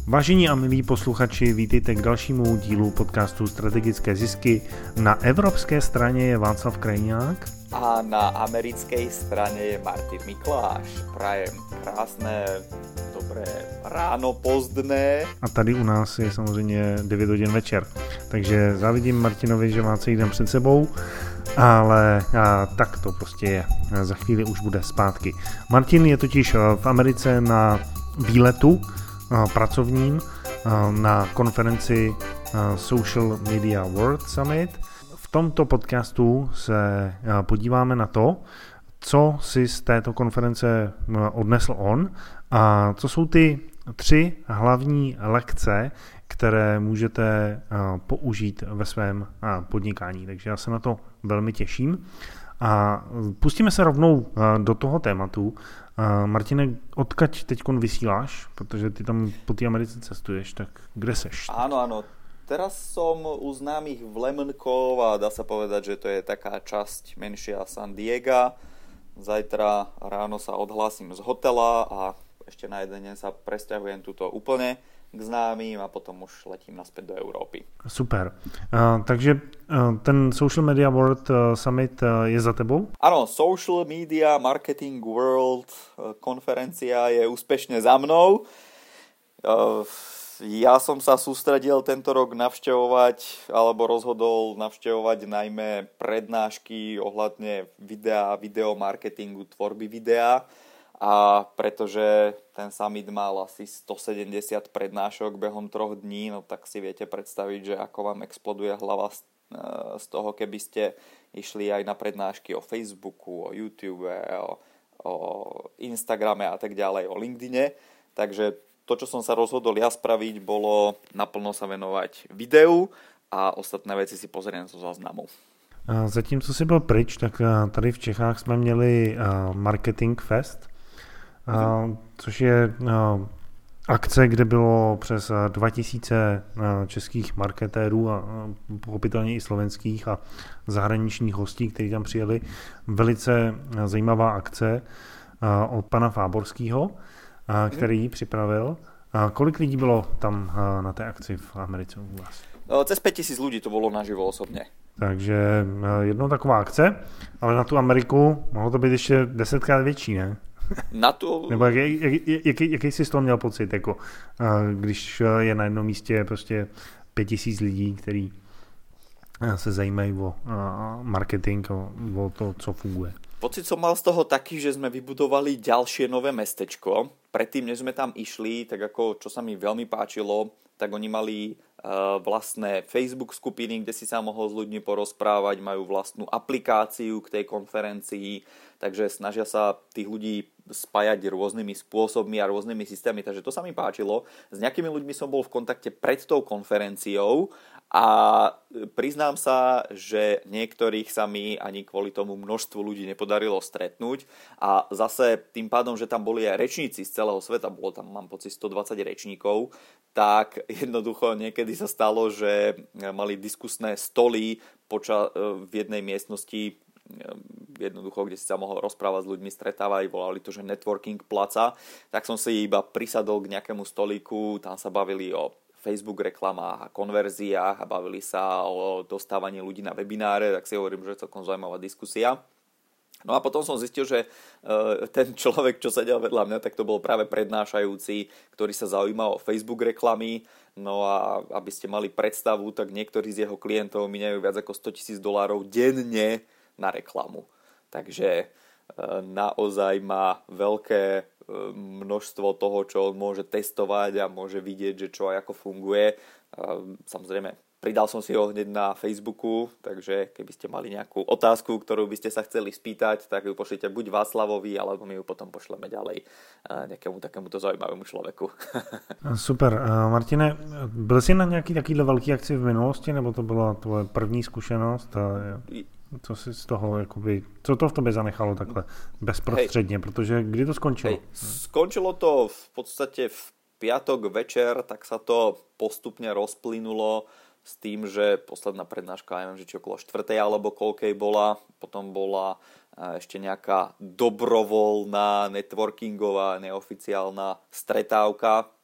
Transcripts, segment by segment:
Vážení a milí posluchači, vítejte k dalšímu dílu podcastu Strategické zisky. Na evropské straně je Václav Krajňák. A na americkej strane je Martin Mikláš. Prajem krásné, dobré ráno, pozdné. A tady u nás je samozřejmě 9 hodin večer. Takže závidím Martinovi, že má celý den před sebou, ale tak to prostě je. Za chvíli už bude zpátky. Martin je totiž v Americe na výletu pracovním na konferenci Social Media World Summit. V tomto podcastu se podíváme na to, co si z této konference odnesl on a co jsou ty 3 hlavní lekce, které můžete použít ve svém podnikání. Takže já se na to velmi těším. A pustíme se rovnou do toho tématu. Martine, odkaď teďkon vysíláš? Protože ty tam po té Americe cestuješ, tak kde seš? Áno. Teraz som u známych v Lemonkov a dá sa povedať, že to je taká časť menšia San Diega. Zajtra ráno sa odhlásim z hotela a ešte na jeden deň sa presťahujem tuto úplne k známym a potom už letím naspäť do Európy. Super. Takže ten Social Media World Summit je za tebou? Áno, Social Media Marketing World konferencia je úspešne za mnou. Ja som sa sústredil tento rok navštevovať, alebo rozhodol navštevovať najmä prednášky ohľadne videa, videomarketingu, tvorby videa. A pretože ten summit mal asi 170 prednášok behom 3 dní, no tak si viete predstaviť, že ako vám exploduje hlava z toho, keby ste išli aj na prednášky o Facebooku, o YouTube, o Instagrame a tak ďalej, o LinkedIne. Takže to, čo som sa rozhodol ja spraviť, bolo naplno sa venovať videu a ostatné veci si pozriem zo záznamu. Zatímco jsi byl pryč, tak tady v Čechách jsme měli Marketing Fest, což je akce, kde bylo přes 2000 českých marketérů a pochopitelně i slovenských a zahraničních hostí, kteří tam přijeli. Velice zajímavá akce od pana Fáborského, který ji připravil. Kolik lidí bylo tam na té akci v Americe u vás? Cez 5000 ľudí to bolo naživo osobne. Takže jednou taková akce, ale na tu Ameriku mohlo to být ještě 10krát větší, ne? Na tu... Nebo jaký jsi z toho měl pocit, jako, když je na jednom místě prostě 5000 lidí, kteří se zajímají o marketing, o to, co funguje? Pocit som mal z toho taký, že sme vybudovali ďalšie nové mestečko. Predtým, než sme tam išli, tak ako čo sa mi veľmi páčilo, tak oni mali vlastné Facebook skupiny, kde si sa mohol s ľuďmi porozprávať, majú vlastnú aplikáciu k tej konferencii, takže snažia sa tých ľudí spájať rôznymi spôsobmi a rôznymi systémami, takže to sa mi páčilo. S nejakými ľuďmi som bol v kontakte pred tou konferenciou a priznám sa, že niektorých sa mi ani kvôli tomu množstvu ľudí nepodarilo stretnúť a zase tým pádom, že tam boli aj rečníci z celého sveta, bolo tam, mám pocit, 120 rečníkov, tak jednoducho niekedy sa stalo, že mali diskusné stoly v jednej miestnosti, jednoducho, kde si sa mohol rozprávať s ľuďmi, stretávať, volali to, že networking placa, tak som si iba prisadol k nejakému stolíku, tam sa bavili o Facebook reklamách a konverziách a bavili sa o dostávaní ľudí na webináre, tak si hovorím, že je celkom zaujímavá diskusia. No a potom som zistil, že ten človek, čo sedel vedľa mňa, tak to bol práve prednášajúci, ktorý sa zaujímal o Facebook reklamy. No a aby ste mali predstavu, tak niektorí z jeho klientov minajú viac ako $100,000 denne na reklamu. Takže naozaj má veľké množstvo toho, čo on môže testovať a môže vidieť, že čo a ako funguje. Samozrejme, pridal som si ho hneď na Facebooku, takže keby ste mali nejakú otázku, ktorú by ste sa chceli spýtať, tak ju pošlite buď Václavovi, alebo my ju potom pošleme ďalej nejakému takémuto zaujímavému človeku. Super. Martine, byl jsi na nějaký takovýhle velký akci v minulosti, nebo to byla tvoje první zkušenost? Co si z toho, jakoby, co to v tobě zanechalo takhle bezprostředně, protože kdy to skončilo? Skončilo to v podstate v piatok večer, tak sa to postupne rozplynulo s tým, že posledná prednáška, neviem, že či okolo 4. alebo koľkej bola, potom bola ešte nejaká dobrovoľná, networkingová, neoficiálna stretávka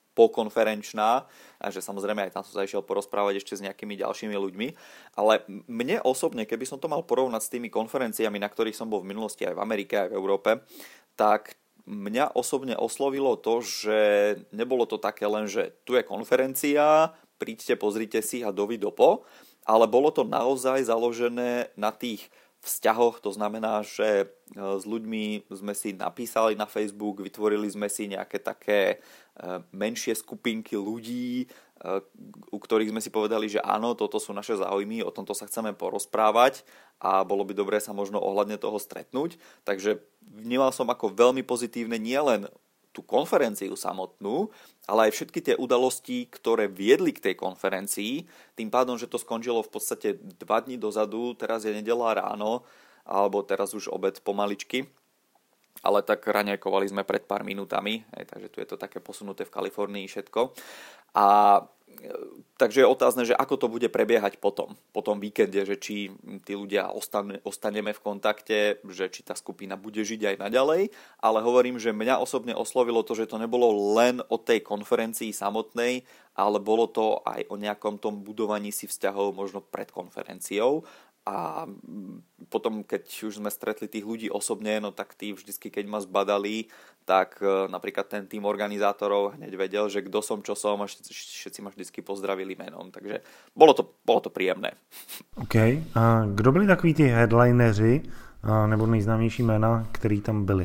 pokonferenčná, a že samozrejme aj tam som sa išiel porozprávať ešte s nejakými ďalšími ľuďmi, ale mne osobne, keby som to mal porovnať s tými konferenciami, na ktorých som bol v minulosti aj v Amerike, aj v Európe, tak mňa osobne oslovilo to, že nebolo to také len, že tu je konferencia, príďte, pozrite si a dovidopo, ale bolo to naozaj založené na tých vzťahoch, to znamená, že s ľuďmi sme si napísali na Facebook, vytvorili sme si nejaké také menšie skupinky ľudí, u ktorých sme si povedali, že áno, toto sú naše záujmy, o tomto sa chceme porozprávať a bolo by dobré sa možno ohľadne toho stretnúť. Takže vnímal som ako veľmi pozitívne nielen tú konferenciu samotnú, ale aj všetky tie udalosti, ktoré viedli k tej konferencii. Tým pádom, že to skončilo v podstate 2 dní dozadu, teraz je nedeľa ráno, alebo teraz už obed pomaličky, ale tak raňajkovali sme pred pár minútami, takže tu je to také posunuté v Kalifornii všetko. A takže je otázne, že ako to bude prebiehať po tom víkende, že či tí ľudia ostaneme v kontakte, že či tá skupina bude žiť aj naďalej, ale hovorím, že mňa osobne oslovilo to, že to nebolo len o tej konferencii samotnej, ale bolo to aj o nejakom tom budovaní si vzťahov možno pred konferenciou. A potom, keď už sme stretli tých ľudí osobne, no tak tí vždycky, keď ma zbadali, tak napríklad ten tým organizátorov hneď vedel, že kto som, čo som a všetci ma vždycky pozdravili menom. Takže bolo to príjemné. OK. A kdo byli takoví ty headlineři nebo nejznámější jména, který tam byli?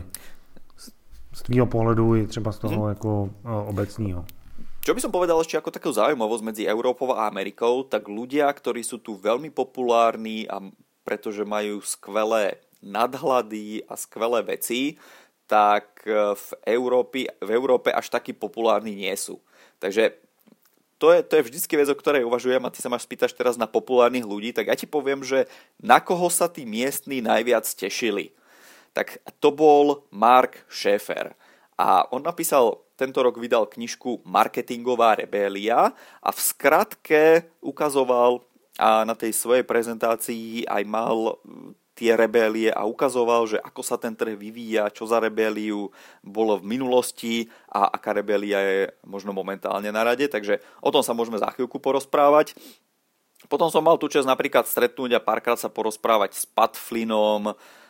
Z tvýho pohledu i třeba z toho jako obecního. Čo by som povedal ešte ako takú zaujímavosť medzi Európou a Amerikou, tak ľudia, ktorí sú tu veľmi populárni a pretože majú skvelé nadhľady a skvelé veci, tak v Európe až takí populárni nie sú. Takže to je vždycky vec, o ktorej uvažujem a ty sa ma spýtaš teraz na populárnych ľudí, tak ja ti poviem, že na koho sa tí miestni najviac tešili. Tak to bol Mark Schaefer. A on tento rok vydal knižku Marketingová rebélia a v skratke ukazoval a na tej svojej prezentácii aj mal tie rebélie a ukazoval, že ako sa ten trh vyvíja, čo za rebéliu bolo v minulosti a aká rebélia je možno momentálne na rade. Takže o tom sa môžeme za chvíľku porozprávať. Potom som mal tú časť napríklad stretnúť a párkrát sa porozprávať s Pat Flynnom,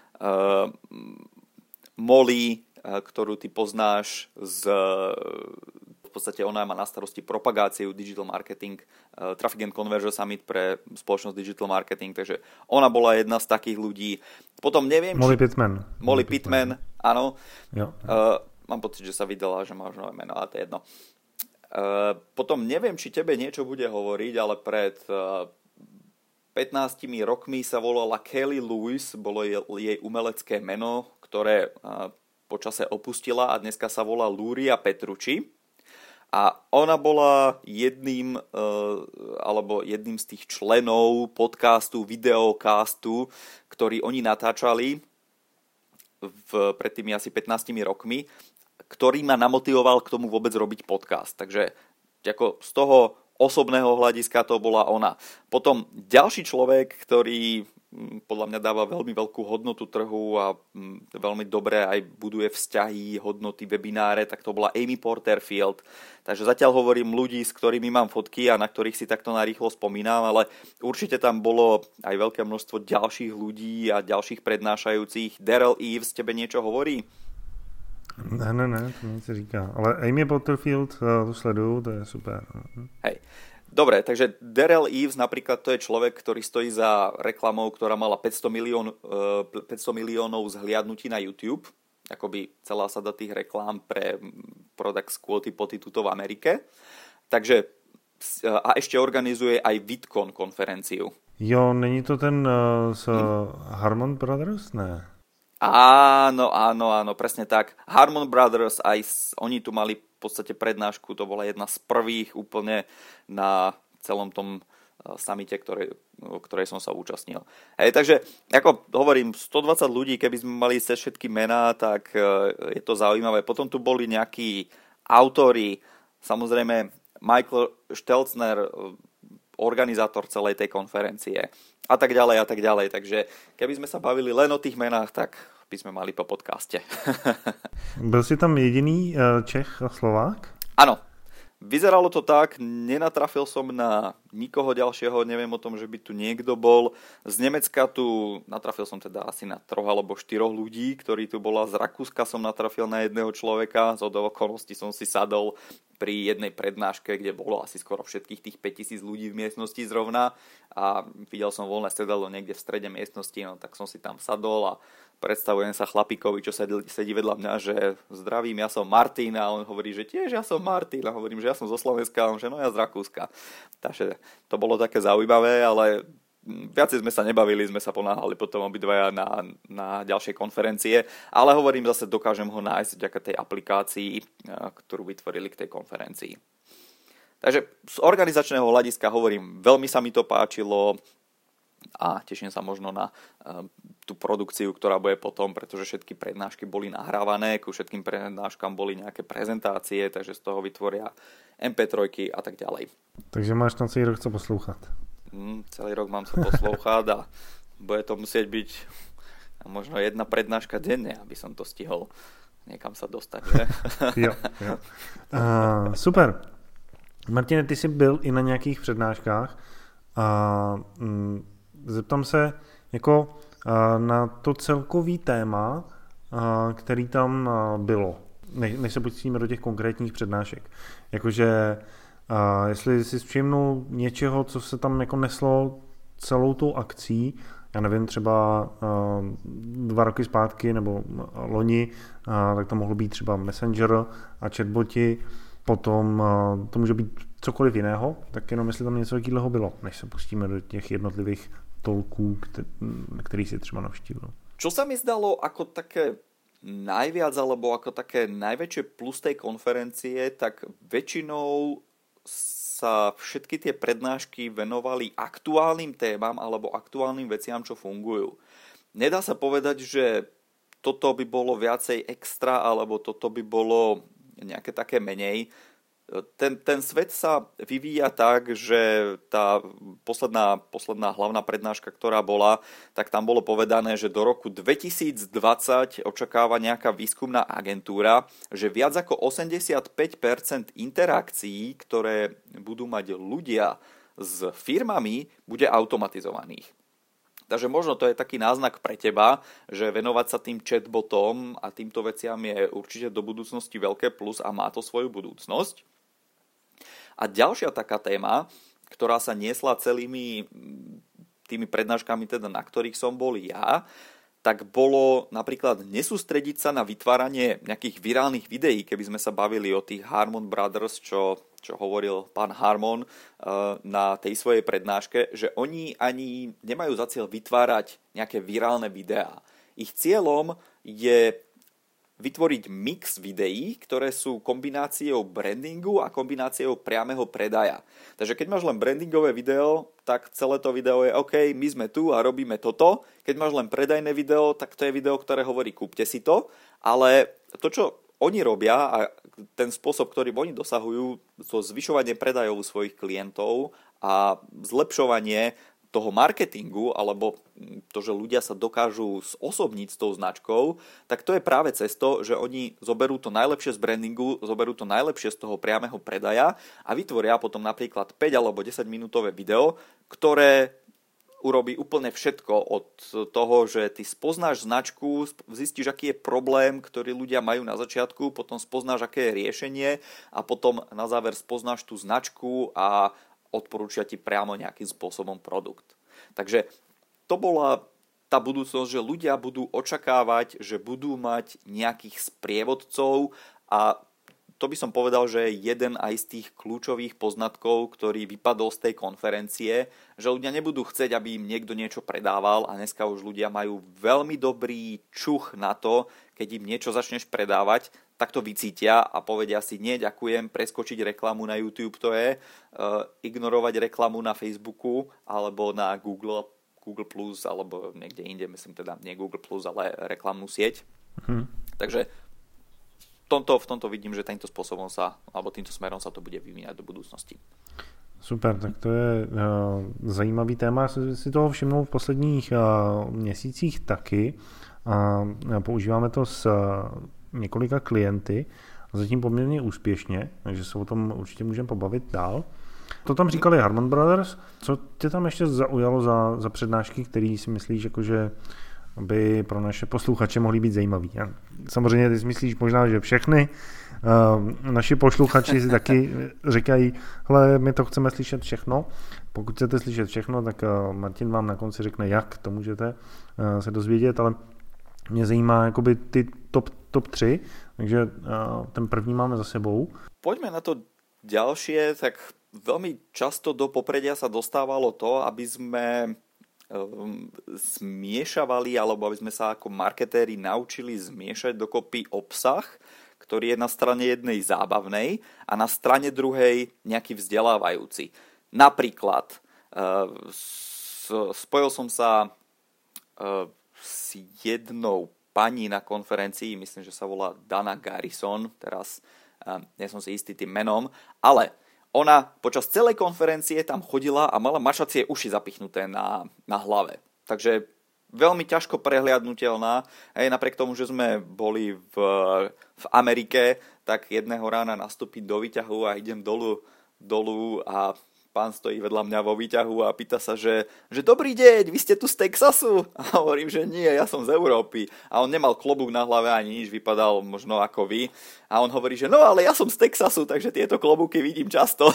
Molly, ktorú ty poznáš v podstate ona má na starosti propagáciu digital marketing, Traffic and Conversion Summit pre spoločnosť digital marketing, takže ona bola jedna z takých ľudí. Potom neviem... Molly Pittman, áno. Jo. Mám pocit, že sa vydala, že má už nové meno, ale to je jedno. Potom neviem, či tebe niečo bude hovoriť, ale pred 15 rokmi sa volala Kelly Lewis, bolo jej umelecké meno, ktoré počase opustila a dneska sa volá Luria Petrucci. A ona bola jedným z tých členov podcastu, videocastu, ktorý oni natáčali pred tými asi 15 rokmi, ktorý ma namotivoval k tomu vôbec robiť podcast. Takže ako z toho osobného hľadiska to bola ona. Potom ďalší človek, ktorý podľa mňa dáva veľmi veľkú hodnotu trhu a veľmi dobre aj buduje vzťahy, hodnoty, webináre, tak to bola Amy Porterfield. Takže zatiaľ hovorím ľudí, s ktorými mám fotky a na ktorých si takto narýchlo spomínam, ale určite tam bolo aj veľké množstvo ďalších ľudí a ďalších prednášajúcich. Daryl Eves, tebe niečo hovorí? Ne, to mi se říká. Ale Amy Porterfield, to sleduju, to je super. Hej. Dobre, takže Daryl Eves napríklad to je človek, ktorý stojí za reklamou, ktorá mala 500 miliónov zhliadnutí na YouTube. Akoby celá sada tých reklám pre Product Quality Poty tuto v Amerike. Takže a ešte organizuje aj VidCon konferenciu. Jo, není to ten z Harmon Brothers? Ne. Áno, presne tak. Harmon Brothers, oni tu mali v podstate prednášku, to bola jedna z prvých úplne na celom tom samite, ktorej som sa účastnil. Hej, takže, ako hovorím, 120 ľudí, keby sme mali cez všetky mená, tak je to zaujímavé. Potom tu boli nejakí autori, samozrejme Michael Stelzner, organizátor celej tej konferencie a tak ďalej. Takže keby sme sa bavili len o tých menách, tak by sme mali po podcaste. Byl si tam jediný Čech a Slovák? Áno. Vyzeralo to tak, nenatrafil som na nikoho ďalšieho, neviem o tom, že by tu niekto bol. Z Nemecka tu natrafil som teda asi na 3 alebo 4 ľudí, ktorí tu bola. Z Rakúska som natrafil na jedného človeka, z okolností som si sadol pri jednej prednáške, kde bolo asi skoro všetkých tých 5000 ľudí v miestnosti zrovna a videl som voľné sedadlo niekde v strede miestnosti, no tak som si tam sadol a predstavujem sa chlapíkovi, čo sedí vedľa mňa, že zdravím, ja som Martin a on hovorí, že tiež ja som Martin a hovorím, že ja som zo Slovenska a on, že no ja z Rakúska. Takže to bolo také zaujímavé, ale viacej sme sa nebavili, sme sa ponáhali potom obidvaja na ďalšej konferencie, ale hovorím zase, dokážem ho nájsť vďaka tej aplikácii, ktorú vytvorili k tej konferencii. Takže z organizačného hľadiska hovorím, veľmi sa mi to páčilo a teším sa možno na tú produkciu, ktorá bude potom, pretože všetky prednášky boli nahrávané, ku všetkým prednáškam boli nejaké prezentácie, takže z toho vytvoria MP3 a tak ďalej. Takže máš tam celý rok co poslouchat. Celý rok mám co poslouchat a bude to musieť byť možno jedna prednáška denne, aby som to stihol niekam sa dostať, že? Jo. Super. Martine, ty jsi byl i na nějakých přednáškách a zeptám se jako na to celkový téma, který tam bylo, než se pustíme do těch konkrétních přednášek. Jakože jestli jsi všimnul něčeho, co se tam jako neslo celou tou akcí, já nevím, třeba 2 roky zpátky nebo loni, tak to mohlo být třeba Messenger a chatboti, potom to může být cokoliv jiného, tak jenom jestli tam něco takového bylo, než se pustíme do těch jednotlivých tolků, který si třeba navštívil. Čo sa mi zdalo ako také najviac, alebo ako také najväčšie plus tej konferencie, tak väčšinou sa všetky tie prednášky venovali aktuálnym témam alebo aktuálnym veciam, čo fungujú. Nedá sa povedať, že toto by bolo viacej extra, alebo toto by bolo nejaké také menej. Ten svet sa vyvíja tak, že tá posledná hlavná prednáška, ktorá bola, tak tam bolo povedané, že do roku 2020 očakáva nejaká výskumná agentúra, že viac ako 85% interakcií, ktoré budú mať ľudia s firmami, bude automatizovaných. Takže možno to je taký náznak pre teba, že venovať sa tým chatbotom a týmto veciam je určite do budúcnosti veľké plus a má to svoju budúcnosť. A ďalšia taká téma, ktorá sa niesla celými tými prednáškami, teda na ktorých som bol ja, tak bolo napríklad nesústrediť sa na vytváranie nejakých virálnych videí, keby sme sa bavili o tých Harmon Brothers, čo hovoril pán Harmon na tej svojej prednáške, že oni ani nemajú za cieľ vytvárať nejaké virálne videá. Ich cieľom je vytvoriť mix videí, ktoré sú kombináciou brandingu a kombináciou priameho predaja. Takže keď máš len brandingové video, tak celé to video je OK, my sme tu a robíme toto. Keď máš len predajné video, tak to je video, ktoré hovorí kúpte si to. Ale to, čo oni robia a ten spôsob, ktorým oni dosahujú, to zvyšovanie predajov svojich klientov a zlepšovanie toho marketingu, alebo to, že ľudia sa dokážu zosobniť s tou značkou, tak to je práve cez to, že oni zoberú to najlepšie z brandingu, zoberú to najlepšie z toho priameho predaja a vytvoria potom napríklad 5 alebo 10 minútové video, ktoré urobí úplne všetko od toho, že ty spoznáš značku, zistíš, aký je problém, ktorý ľudia majú na začiatku, potom spoznáš, aké je riešenie a potom na záver spoznáš tú značku a odporúčia ti priamo nejakým spôsobom produkt. Takže to bola tá budúcnosť, že ľudia budú očakávať, že budú mať nejakých sprievodcov a to by som povedal, že je jeden aj z tých kľúčových poznatkov, ktorý vypadol z tej konferencie, že ľudia nebudú chcieť, aby im niekto niečo predával a dneska už ľudia majú veľmi dobrý čuch na to, keď im niečo začneš predávať, tak to vycítia a povedia si, nie, ďakujem, preskočiť reklamu na YouTube to je, ignorovať reklamu na Facebooku alebo na Google Plus, alebo niekde inde, myslím teda nie Google Plus, ale reklamnú sieť. Takže v tomto vidím, že týmto spôsobom alebo týmto smerom sa to bude vyvíjať do budúcnosti. Super, tak to je zajímavý téma. Já si toho všimnul v posledních měsících taky. Používáme to s několika klienty zatím poměrně úspěšně, takže se o tom určitě můžeme pobavit dál. To tam říkali Harman Brothers. Co tě tam ještě zaujalo za přednášky, který si myslíš, jakože by pro naše posluchače mohly být zajímavý? Samozřejmě ty si myslíš možná, že všechny naši posluchači si taky říkají, hele, my to chceme slyšet všechno. Pokud chcete slyšet všechno, tak Martin vám na konci řekne, jak to můžete se dozvědět, ale mě zajímá jakoby ty top 3, takže ten první máme za sebou. Poďme na to ďalšie, tak veľmi často do popredia sa dostávalo to, aby sme zmiešavali, alebo aby sme sa ako marketéri naučili zmiešať dokopy obsah, ktorý je na strane jednej zábavnej a na strane druhej nejaký vzdelávajúci. Napríklad spojil som sa s jednou pani na konferencii, myslím, že sa volá Dana Garrison, teraz nie som si istý tým menom, ale ona počas celej konferencie tam chodila a mala mačacie uši zapichnuté na hlave. Takže veľmi ťažko prehliadnutelná. Napriek tomu, že sme boli v Amerike, tak jedného rána nastúpiť do výťahu a idem dolu a pán stojí vedľa mňa vo výťahu a pýta sa, že dobrý deň, vy ste tu z Texasu? A hovorím, že nie, ja som z Európy. A on nemal klobúk na hlave ani nič, vypadal možno ako vy. A on hovorí, že no ale ja som z Texasu, takže tieto klobúky vidím často.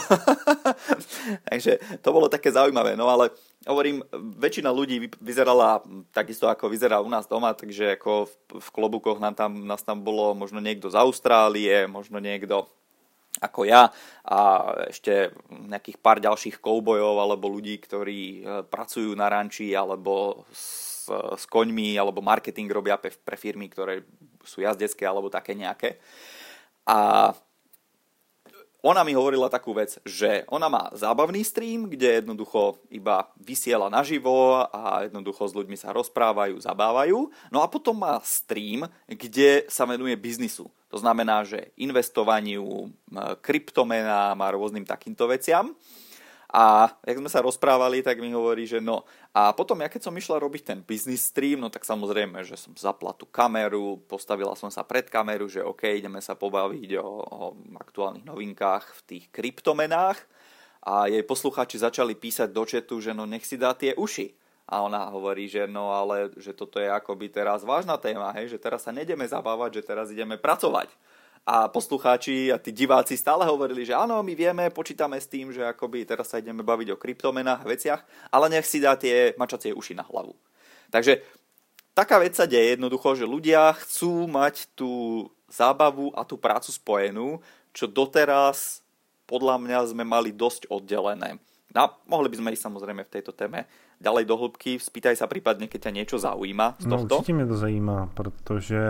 Takže to bolo také zaujímavé. No ale hovorím, väčšina ľudí vyzerala takisto ako vyzerá u nás doma, takže ako v klobúkoch nás tam bolo možno niekto z Austrálie, možno niekto ako ja a ešte nejakých pár ďalších koubojov alebo ľudí, ktorí pracujú na ranči alebo s koňmi alebo marketing robia pre firmy, ktoré sú jazdecké alebo také nejaké. A ona mi hovorila takú vec, že ona má zábavný stream, kde jednoducho iba vysiela naživo a jednoducho s ľuďmi sa rozprávajú, zabávajú. No a potom má stream, kde sa venuje biznisu. To znamená, že investovaniu, kryptomenám a rôznym takýmto veciam. A jak sme sa rozprávali, tak mi hovorí, že no. A potom, ja keď som išla robiť ten business stream, no tak samozrejme, že som zapla tú kameru, postavila som sa pred kameru, že OK, ideme sa pobaviť o aktuálnych novinkách v tých kryptomenách. A jej poslucháči začali písať do chatu, že no nech si dá tie uši. A ona hovorí, že no ale, že toto je akoby teraz vážna téma, hej, že teraz sa nejdeme zabávať, že teraz ideme pracovať. A poslucháči a tí diváci stále hovorili, že áno, my vieme, počítame s tým, že akoby teraz sa ideme baviť o kryptomenách a veciach, ale nech si dá tie mačacie uši na hlavu. Takže taká vec sa deje jednoducho, že ľudia chcú mať tú zábavu a tú prácu spojenú, čo doteraz podľa mňa sme mali dosť oddelené. No, mohli by sme ísť samozrejme v tejto téme ďalej do hĺbky. Spýtaj sa prípadne, keď ťa niečo zaujíma z tohto. No určitě mě to zajímá, protože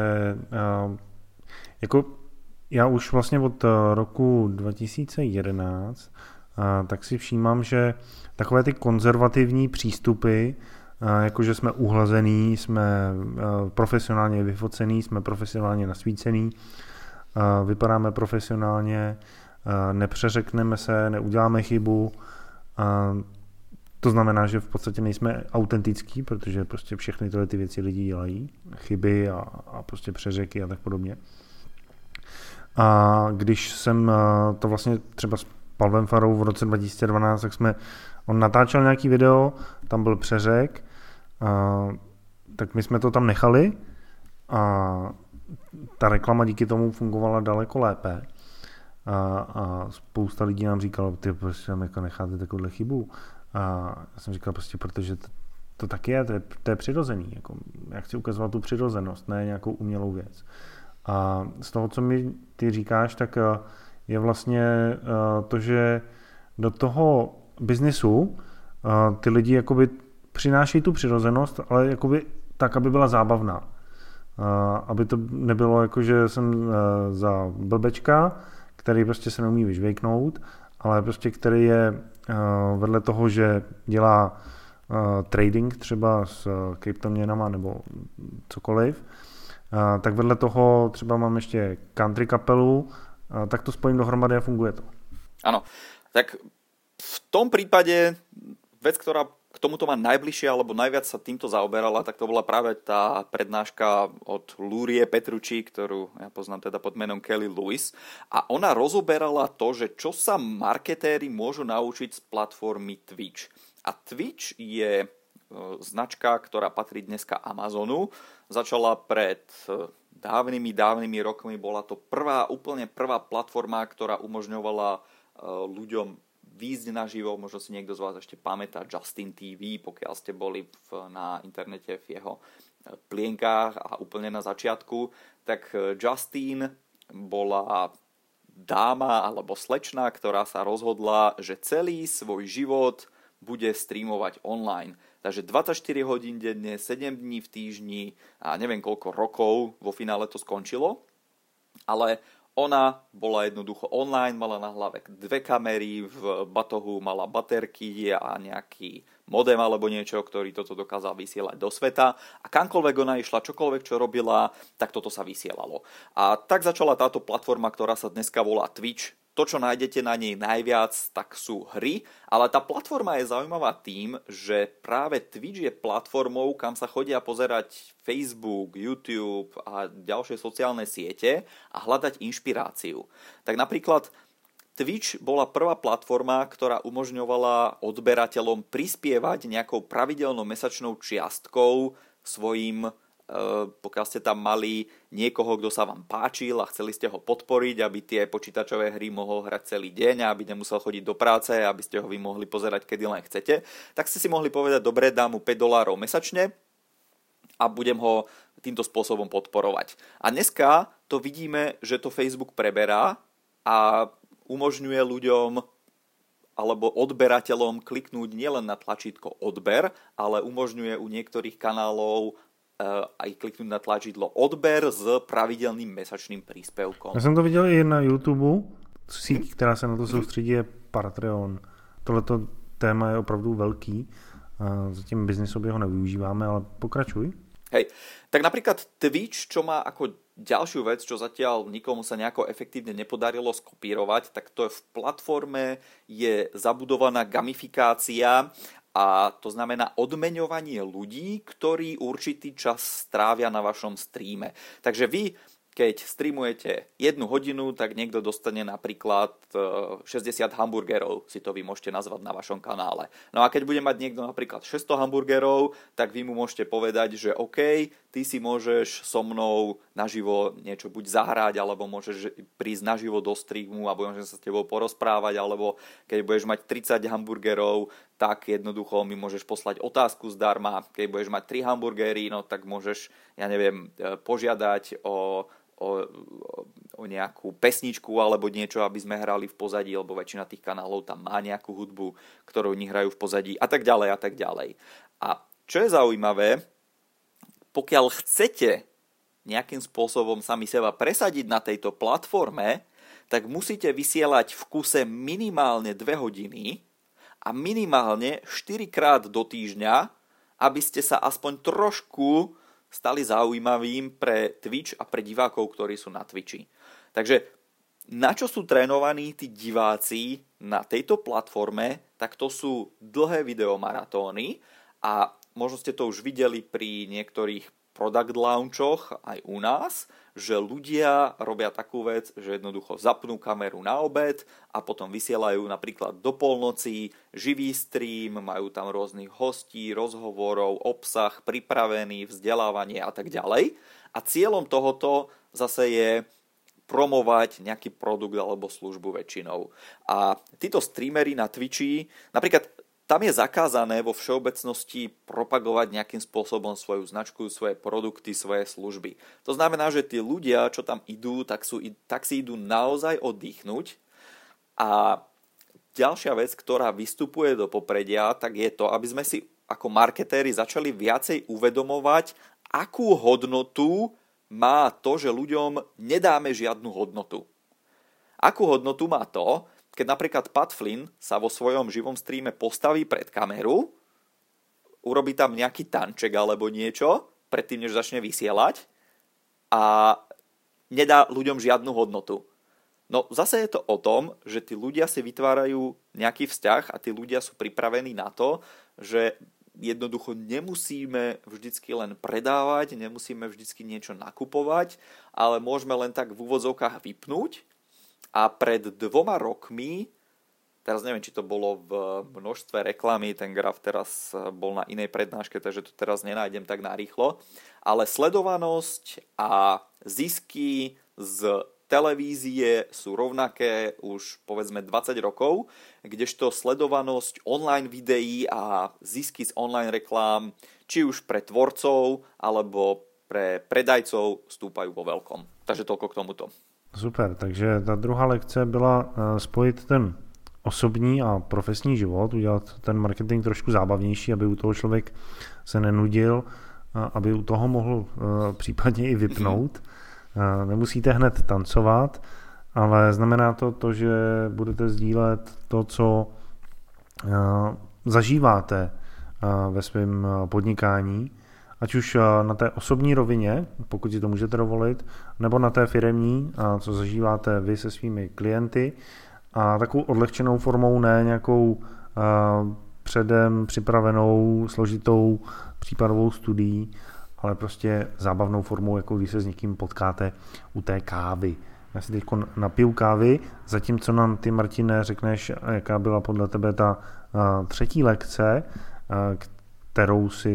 jako já už vlastně od roku 2011 tak si všímám, že takové ty konzervativní přístupy, jakože jsme uhlazený, jsme profesionálně vyfocený, jsme profesionálně nasvícený, vypadáme profesionálně, nepřeřekneme se, neuděláme chybu. To znamená, že v podstatě nejsme autentický, protože prostě všechny tyhle ty věci lidi dělají, chyby a prostě přeřeky a tak podobně. A když jsem to vlastně třeba s Pavlem Farou v roce 2012, tak on natáčel nějaký video, tam byl přeřek, tak my jsme to tam nechali a ta reklama díky tomu fungovala daleko lépe. A spousta lidí nám říkalo, ty prostě tam jako necháte takovouhle chybu. A já jsem říkal prostě, protože to tak je, to je přirozený. Jako, já chci ukazovat tu přirozenost, ne nějakou umělou věc. A z toho, co mi ty říkáš, tak je vlastně to, že do toho biznisu ty lidi jakoby přinášejí tu přirozenost, ale jakoby tak, aby byla zábavná. Aby to nebylo jako, že jsem za blbečka, který prostě se neumí vyžvejknout, ale prostě který je vedle toho, že dělá trading třeba s kryptoměnama nebo cokoliv, tak vedle toho třeba mám ještě country kapelu, tak to spojím dohromady a funguje to. Áno, tak v tom prípade vec, tomuto má najbližšie, alebo najviac sa týmto zaoberala, tak to bola práve tá prednáška od Lurie Petrucci, ktorú ja poznám teda pod menom Kelly Lewis. A ona rozoberala to, že čo sa marketéri môžu naučiť z platformy Twitch. A Twitch je značka, ktorá patrí dneska Amazonu. Začala pred dávnymi rokmi. Bola to úplne prvá platforma, ktorá umožňovala ľuďom výjsť naživo, možno si niekto z vás ešte pamätá Justin TV, pokiaľ ste boli na internete v jeho plienkách a úplne na začiatku, tak Justin bola dáma alebo slečna, ktorá sa rozhodla, že celý svoj život bude streamovať online. Takže 24 hodín denne, 7 dní v týždni a neviem koľko rokov vo finále to skončilo, ale ona bola jednoducho online, mala na hlave 2 kamery, v batohu mala baterky a nejaký modem alebo niečo, ktorý toto dokázal vysielať do sveta. A kamkoľvek ona išla, čokoľvek čo robila, tak toto sa vysielalo. A tak začala táto platforma, ktorá sa dneska volá Twitch. To, čo nájdete na nej najviac, tak sú hry, ale tá platforma je zaujímavá tým, že práve Twitch je platformou, kam sa chodia pozerať Facebook, YouTube a ďalšie sociálne siete a hľadať inšpiráciu. Tak napríklad Twitch bola prvá platforma, ktorá umožňovala odberateľom prispievať nejakou pravidelnou mesačnou čiastkou svojim, pokiaľ ste tam mali niekoho, kto sa vám páčil a chceli ste ho podporiť, aby tie počítačové hry mohol hrať celý deň a aby nemusel chodiť do práce, aby ste ho vy mohli pozerať, kedy len chcete, tak ste si mohli povedať, dobre, dám mu $5 mesačne a budem ho týmto spôsobom podporovať. A dneska to vidíme, že to Facebook preberá a umožňuje ľuďom alebo odberateľom kliknúť nielen na tlačítko odber, ale umožňuje u niektorých kanálov aj kliknúť na tlačidlo odber s pravidelným mesačným príspevkom. Já jsem to viděl i na YouTube, síť, která se na to soustředí, je Patreon. Tohleto téma je opravdu velký, zatím biznisově ho nevyužíváme, ale pokračuj. Hej, tak napríklad Twitch, čo má ako ďalšiu vec, čo zatiaľ nikomu sa nejako efektívne nepodarilo skopírovať, tak to je v platforme je zabudovaná gamifikácia. A to znamená odmeňovanie ľudí, ktorí určitý čas strávia na vašom streame. Takže vy, keď streamujete 1 hodinu, tak niekto dostane napríklad 60 hamburgerov, si to vy môžete nazvať na vašom kanále. No a keď bude mať niekto napríklad 600 hamburgerov, tak vy mu môžete povedať, že OK, ty si môžeš so mnou naživo niečo buď zahrať, alebo môžeš prísť naživo do streamu a môžem sa s tebou porozprávať, alebo keď budeš mať 30 hamburgerov, tak jednoducho mi môžeš poslať otázku zdarma. Keď budeš mať 3 hamburgery, no tak môžeš, ja neviem, požiadať o nejakú pesničku alebo niečo, aby sme hrali v pozadí, lebo väčšina tých kanálov tam má nejakú hudbu, ktorú oni hrajú v pozadí a tak ďalej a tak ďalej. A čo je zaujímavé, pokiaľ chcete nejakým spôsobom sami seba presadiť na tejto platforme, tak musíte vysielať v kuse minimálne 2 hodiny a minimálne 4 krát do týždňa, aby ste sa aspoň trošku stali zaujímavým pre Twitch a pre divákov, ktorí sú na Twitchi. Takže na čo sú trénovaní tí diváci na tejto platforme, tak to sú dlhé videomaratóny a možno ste to už videli pri niektorých product launchoch aj u nás, že ľudia robia takú vec, že jednoducho zapnú kameru na obed a potom vysielajú napríklad do polnoci živý stream, majú tam rôznych hostí, rozhovorov, obsah pripravený, vzdelávanie a tak ďalej. A cieľom tohoto zase je promovať nejaký produkt alebo službu väčšinou. A títo streamery na Twitchi, napríklad tam je zakázané vo všeobecnosti propagovať nejakým spôsobom svoju značku, svoje produkty, svoje služby. To znamená, že tí ľudia, čo tam idú, tak si idú naozaj oddychnúť. A ďalšia vec, ktorá vystupuje do popredia, tak je to, aby sme si ako marketéri začali viacej uvedomovať, akú hodnotu má to, že ľuďom nedáme žiadnu hodnotu. Akú hodnotu má to, keď napríklad Pat Flynn sa vo svojom živom streame postaví pred kameru, urobí tam nejaký tanček alebo niečo, predtým, než začne vysielať a nedá ľuďom žiadnu hodnotu. No zase je to o tom, že tí ľudia si vytvárajú nejaký vzťah a tí ľudia sú pripravení na to, že jednoducho nemusíme vždycky len predávať, nemusíme vždycky niečo nakupovať, ale môžeme len tak v úvodzovkách vypnúť. A pred 2 rokmi, teraz neviem, či to bolo v množstve reklamy, ten graf teraz bol na inej prednáške, takže to teraz nenájdem tak narýchlo, ale sledovanosť a zisky z televízie sú rovnaké už povedzme 20 rokov, kdežto sledovanosť online videí a zisky z online reklám, či už pre tvorcov alebo pre predajcov stúpajú vo veľkom. Takže toľko k tomuto. Super, takže ta druhá lekce byla spojit ten osobní a profesní život, udělat ten marketing trošku zábavnější, aby u toho člověk se nenudil, aby u toho mohl případně i vypnout. Nemusíte hned tancovat, ale znamená to, že budete sdílet to, co zažíváte ve svém podnikání, ať už na té osobní rovině, pokud si to můžete dovolit, nebo na té firemní, co zažíváte vy se svými klienty, a takovou odlehčenou formou, ne nějakou předem připravenou, složitou případovou studií, ale prostě zábavnou formou, jako když se s někým potkáte u té kávy. Já si teď napiju kávy, zatímco nám ty, Martine, řekneš, jaká byla podle tebe ta třetí lekce, kterou si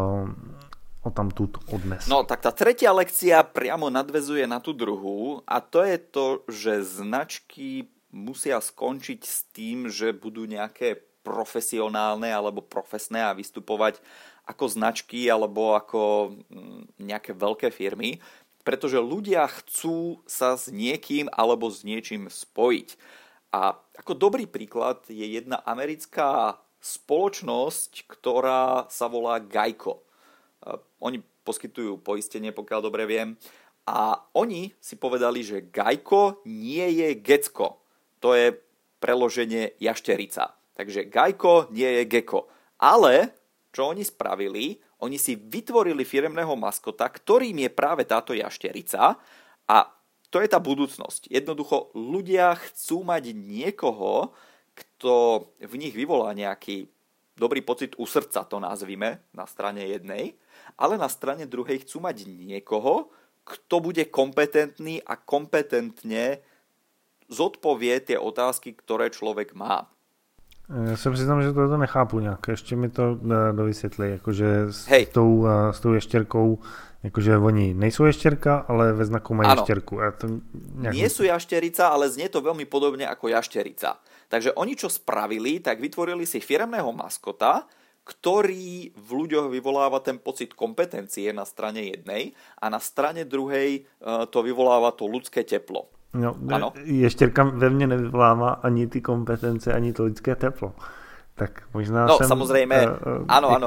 odtamtud odnes. No tak tá tretia lekcia priamo nadväzuje na tú druhú a to je to, že značky musia skončiť s tým, že budú nejaké profesionálne alebo profesné a vystupovať ako značky alebo ako nejaké veľké firmy, pretože ľudia chcú sa s niekým alebo s niečím spojiť. A ako dobrý príklad je jedna americká spoločnosť, ktorá sa volá Geico. Oni poskytujú poistenie, pokiaľ dobre viem. A oni si povedali, že Geico nie je Gecko. To je preloženie jašterica. Takže Geico nie je Gecko. Ale čo oni spravili? Oni si vytvorili firemného maskota, ktorým je práve táto jašterica. A to je tá budúcnosť. Jednoducho ľudia chcú mať niekoho, kto v nich vyvolá nejaký dobrý pocit u srdca, to nazvime, na strane jednej, ale na strane druhej chcú mať niekoho, kto bude kompetentný a kompetentne zodpovie tie otázky, ktoré človek má. Já se přiznám, že to nechápu nějak. Ještě mi to dovysvětli, jakože s tou ještěrkou, jakože oni nejsou ještěrka, ale ve znaku mají ještěrku. Nie sú jašterica, ale znie to veľmi podobne ako jašterica. Takže oni čo spravili, tak vytvorili si firemného maskota, ktorý v ľuďoch vyvoláva ten pocit kompetencie na strane jednej a na strane druhej to vyvoláva to ľudské teplo. No, ještěrka ve mně nevyvolává ani ty kompetence, ani to lidské teplo. Tak možná no, samozřejmě, ano.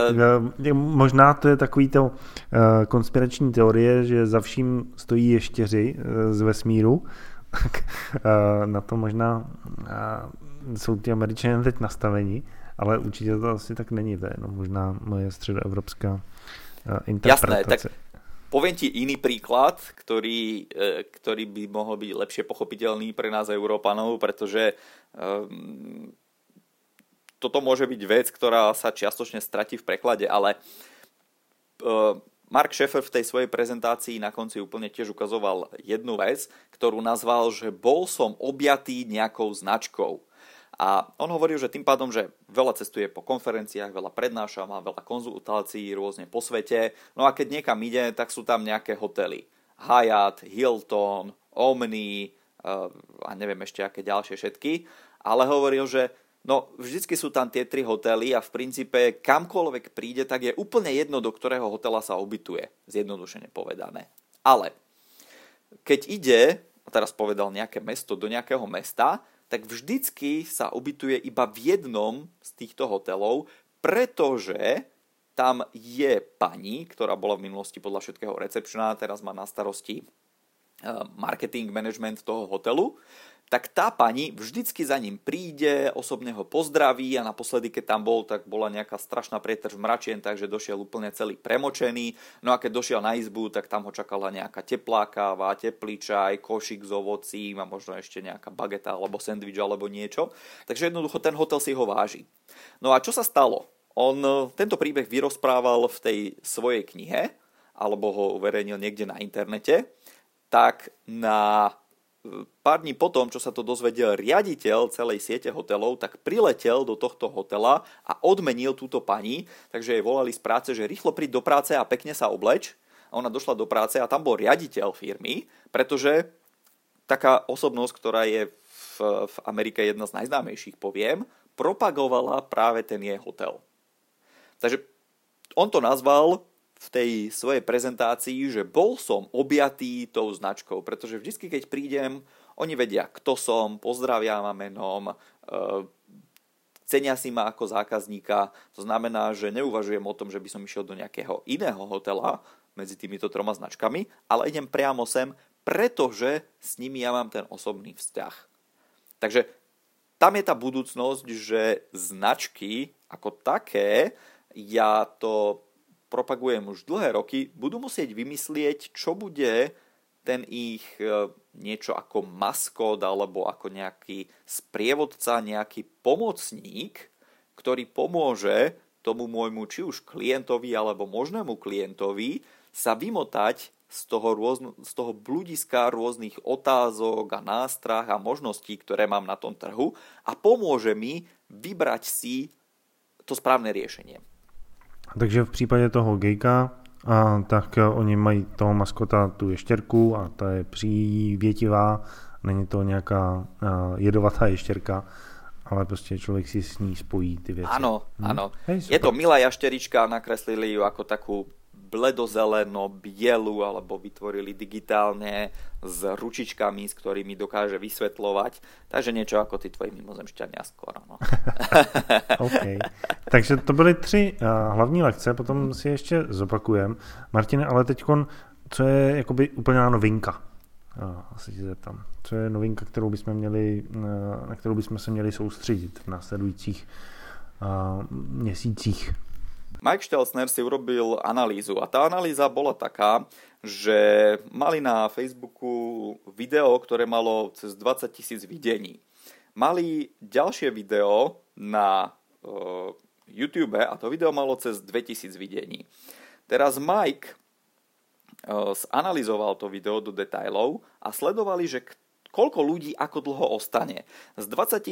Možná to je takový to konspirační teorie, že za vším stojí ještěři z vesmíru. Tak na to možná jsou ty Američané teď nastaveni, ale určitě to asi tak není. To je jenom možná moje středoevropská interpretace. Jasné, tak poviem ti iný príklad, ktorý by mohol byť lepšie pochopiteľný pre nás Európanov, pretože toto môže byť vec, ktorá sa čiastočne stratí v preklade, ale Mark Schaefer v tej svojej prezentácii na konci úplne tiež ukazoval jednu vec, ktorú nazval, že bol som objatý nejakou značkou. A on hovoril, že tým pádom, že veľa cestuje po konferenciách, veľa prednáša, má veľa konzultácií rôzne po svete. No a keď niekam ide, tak sú tam nejaké hotely. Hyatt, Hilton, Omni a neviem ešte aké ďalšie všetky. Ale hovoril, že no vždycky sú tam tie 3 hotely a v princípe kamkoľvek príde, tak je úplne jedno, do ktorého hotela sa ubytuje. Zjednodušene povedané. Ale keď ide, a teraz povedal nejaké mesto do nejakého mesta, tak vždycky sa ubytuje iba v jednom z týchto hotelov, pretože tam je pani, ktorá bola v minulosti podľa všetkého recepčná, teraz má na starosti marketing management toho hotelu. tak tá pani vždycky za ním príde, osobne ho pozdraví a naposledy, keď tam bol, tak bola nejaká strašná prietrž mračien, takže došiel úplne celý premočený. No a keď došiel na izbu, tak tam ho čakala nejaká teplá káva, teplý čaj, košík s ovocím a možno ešte nejaká bageta alebo sendvič alebo niečo. Takže jednoducho ten hotel si ho váži. No a čo sa stalo? On tento príbeh vyrozprával v tej svojej knihe, alebo ho uverejnil niekde na internete, tak na pár dní potom, čo sa to dozvedel riaditeľ celej siete hotelov, tak priletel do tohto hotela a odmenil túto pani, takže jej volali z práce, že rýchlo príď do práce a pekne sa obleč. A ona došla do práce a tam bol riaditeľ firmy, pretože taká osobnosť, ktorá je v Amerike jedna z najznámejších, poviem, propagovala práve ten jej hotel. Takže on to nazval v tej svojej prezentácii, že bol som objatý tou značkou, pretože vždy, keď prídem, oni vedia, kto som, pozdravia ma menom, cenia si ma ako zákazníka, to znamená, že neuvažujem o tom, že by som išiel do nejakého iného hotela medzi týmito 3 značkami, ale idem priamo sem, pretože s nimi ja mám ten osobný vzťah. Takže tam je tá budúcnosť, že značky ako také, ja to propagujem už dlhé roky, budú musieť vymyslieť, čo bude ten ich niečo ako maskot alebo ako nejaký sprievodca, nejaký pomocník, ktorý pomôže tomu môjmu či už klientovi alebo možnému klientovi sa vymotať z toho bludiska rôznych otázok a nástrah a možností, ktoré mám na tom trhu a pomôže mi vybrať si to správne riešenie. Takže v případě toho gejka, tak oni mají toho maskota, tu ještěrku a ta je přívětivá, není to nějaká jedovatá ještěrka, ale prostě člověk si s ní spojí ty věci. Áno, áno. Je to milá jašterička, nakreslili ju ako takú bledozeleno, bielu, alebo vytvorili digitálne s ručičkami, s ktorými dokáže vysvetľovať. Takže niečo ako tí tvoji mimozemšťania skoro. No. OK. Takže to byly 3 hlavní lekce, potom si ještě zopakujem. Martine, ale teďkon, co je jakoby úplná novinka? Asi ti zeptám. Co je novinka, na kterou bychom se měli soustředit v následujících měsících? Mike Stelzner si urobil analýzu a tá analýza bola taká, že mali na Facebooku video, ktoré malo cez 20 000 videní. Mali ďalšie video na YouTube a to video malo cez 2000 videní. Teraz Mike zanalizoval to video do detailov a sledovali, že koľko ľudí ako dlho ostane. Z 20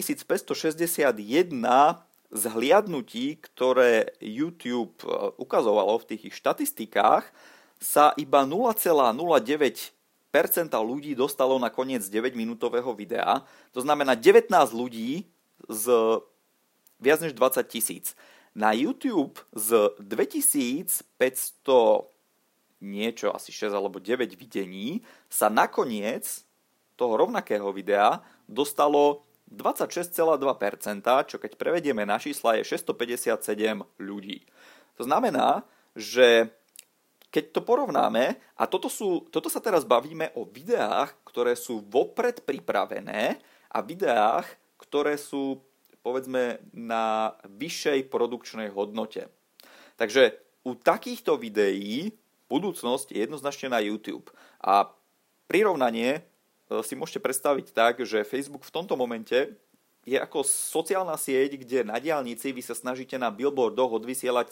561 zhliadnutí, ktoré YouTube ukazovalo v tých ich štatistikách, sa iba 0,09% ľudí dostalo na koniec 9-minútového videa. To znamená 19 ľudí z viac než 20 000. Na YouTube z 2500 niečo, asi 6 alebo 9 videní sa nakoniec toho rovnakého videa dostalo 26,2%, čo keď prevedieme na čísla je 657 ľudí. To znamená, že keď to porovnáme, a toto sa teraz bavíme o videách, ktoré sú vopred pripravené a videách, ktoré sú povedzme na vyššej produkčnej hodnote. Takže u takýchto videí budúcnosť je jednoznačne na YouTube. A prirovnanie si môžete predstaviť tak, že Facebook v tomto momente je ako sociálna sieť, kde na diaľnici vy sa snažíte na billboardoch odvysielať